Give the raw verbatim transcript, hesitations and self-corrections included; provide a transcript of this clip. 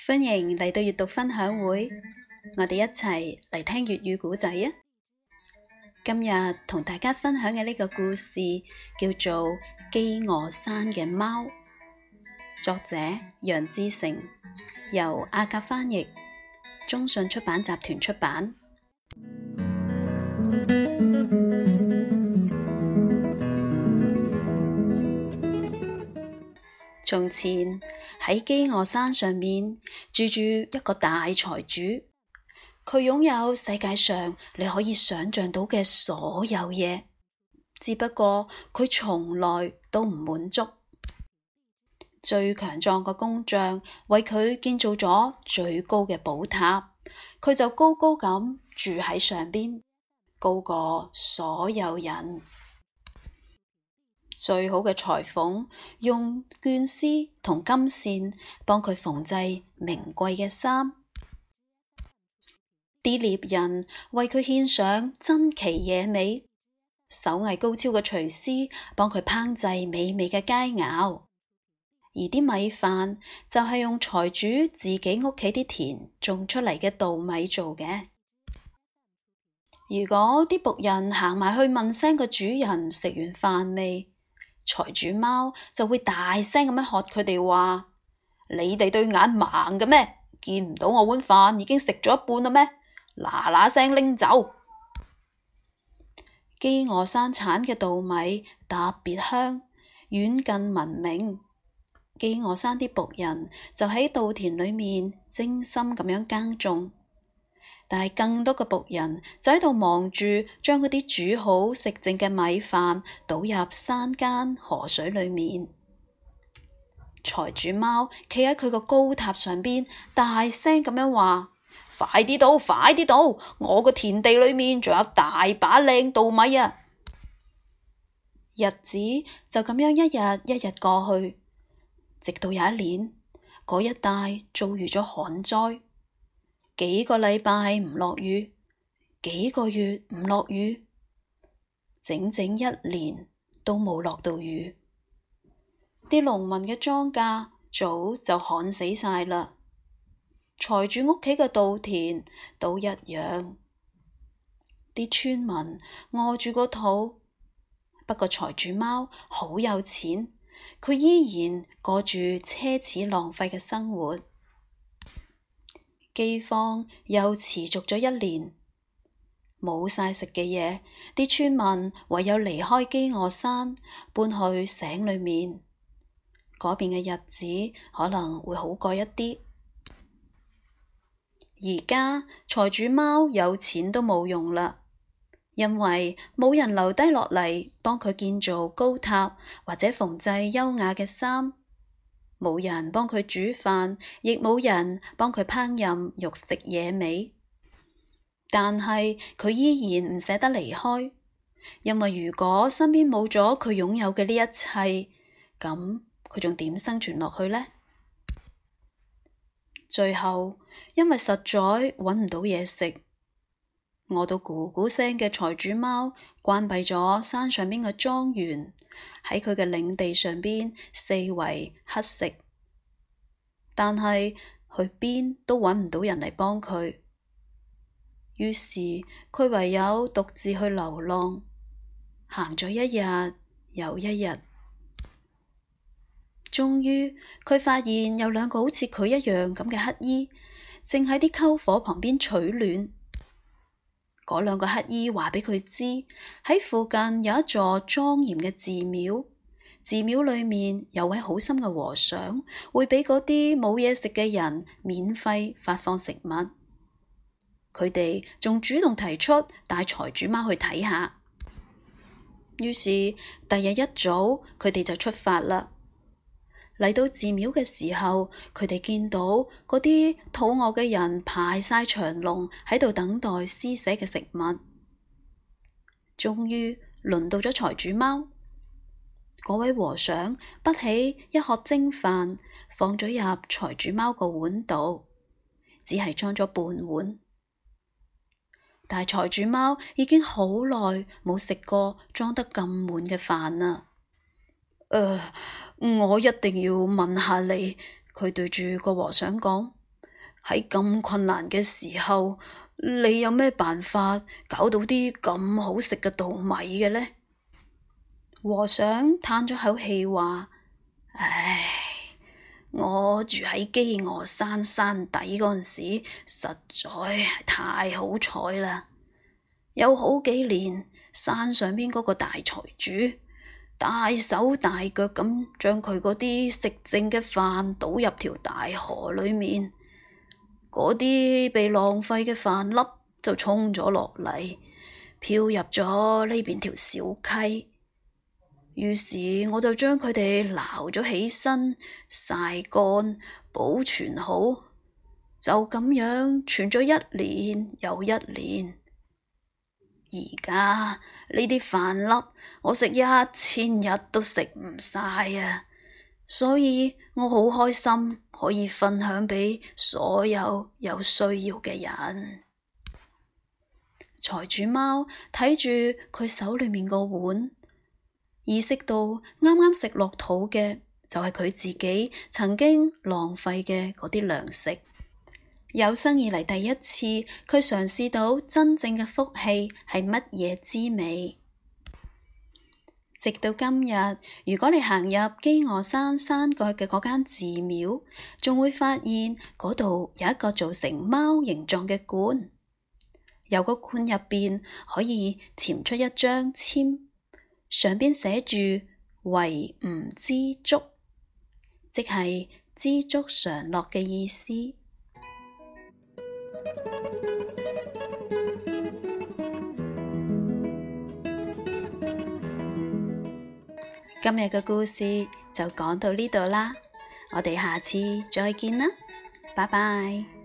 歡迎嚟到閱讀分享會，我哋一齊嚟聽粵語故仔啊！今日同大家分享嘅呢個故事叫做《饑餓山嘅貓》，作者楊志成，由阿甲翻譯，中信出版集團出版。從前喺饑餓山上面住住一個大財主，佢擁有世界上你可以想象到嘅所有嘢，只不過佢從來都唔滿足。最強壯嘅工匠為佢建造咗最高嘅寶塔，佢就高高咁住喺上邊，高過所有人。最好嘅裁縫用絹絲同金線幫佢縫製名貴嘅衫，啲獵人為佢獻上珍奇野味，手藝高超嘅廚師幫佢烹製美味嘅佳肴，而啲米飯就係用財主自己屋企啲田種出嚟嘅稻米做嘅。如果啲僕人行埋去問聲個主人食完飯未，財主貓就會大聲咁樣喝佢哋話：你哋對眼盲嘅咩？見唔到我碗飯已經食咗一半啦咩？嗱嗱聲拎走！饑餓山產嘅稻米特別香，遠近聞名。饑餓山啲僕人就喺稻田裏面精心咁樣耕種。但係更多嘅僕人就喺度忙住將嗰啲煮好食剩嘅米飯倒入山間河水裏面。財主貓企喺佢個高塔上邊，大聲咁樣話：快啲倒，快啲倒！我個田地裏面仲有大把靚稻米啊！日子就咁樣一日一日過去，直到有一年，嗰一帶遭遇咗旱災。幾個禮拜唔落雨，幾個月唔落雨，整整一年都冇落到雨。啲農民嘅莊稼早就旱死晒啦，財主屋企嘅稻田都一樣。啲村民餓住個肚，不過財主貓好有錢，佢依然過住奢侈浪費嘅生活。饑荒又持續咗一年，冇晒食嘅嘢，啲村民唯有離開饑餓山，搬去省裏面。嗰邊嘅日子可能會好過一啲。而家財主貓有錢都冇用啦，因為冇人留低落嚟幫佢建造高塔或者縫製優雅嘅衫。冇人幫佢煮飯，亦冇人幫佢烹飪肉食野味。但係佢依然唔捨得離開，因為如果身邊冇咗佢擁有嘅呢一切，咁佢仲點生存落去呢？最後，因為實在揾唔到嘢食，餓到咕咕聲嘅財主貓關閉咗山上邊嘅莊園，喺佢嘅領地上邊四圍乞食，但係去邊都揾唔到人嚟幫佢，於是佢唯有獨自去流浪，行咗一日又一日，終於佢發現有兩個好似佢一樣咁嘅乞兒，正喺啲篝火旁邊取暖。嗰兩個乞兒話俾佢知，喺附近有一座莊嚴嘅寺廟，寺廟裏面有位好心嘅和尚，會俾嗰啲冇嘢食嘅人免費發放食物。佢哋仲主動提出帶財主貓去睇下。於是第日一早，佢哋就出發啦。嚟到寺廟嘅時候，佢哋見到嗰啲肚餓嘅人排晒長龍喺度等待施捨嘅食物。終於輪到咗財主貓，嗰位和尚不起一盒蒸飯，放咗入財主貓個碗度，只係裝咗半碗。但係財主貓已經好耐冇食過裝得咁滿嘅飯啦。誒、呃，我一定要問下你，佢對住個和尚講， 喺咁困難嘅時候，你有咩辦法搞到啲咁好食嘅稻米嘅呢？和尚嘆咗口氣話：唉，我住喺飢餓山山底嗰陣時，實在係太好彩啦！有好幾年，山上邊嗰個大財主大手大腳咁將佢嗰啲食剩嘅飯倒入條大河裏面，嗰啲被浪費嘅飯粒就沖咗落嚟，漂入咗呢邊條小溪。於是我就將佢哋撈咗起身，曬乾，保存好，就咁樣存咗一年又一年。而家呢啲飯粒，我食一千日都食唔晒啊！所以我好開心可以分享俾所有有需要嘅人。財主貓睇住佢手裏面個碗，意識到啱啱食落肚嘅就係佢自己曾經浪費嘅嗰啲糧食。有生以嚟第一次，佢嘗試到真正嘅福氣係乜嘢滋味。直到今日，如果你行入飢餓山山腳嘅嗰間寺廟，仲會發現嗰度有一個做成貓形狀嘅罐，有個罐入邊可以潛出一張籤，上邊寫住為吾知足，即係知足常樂嘅意思。今日嘅故事就講到呢度啦，我哋下次再見啦，拜拜。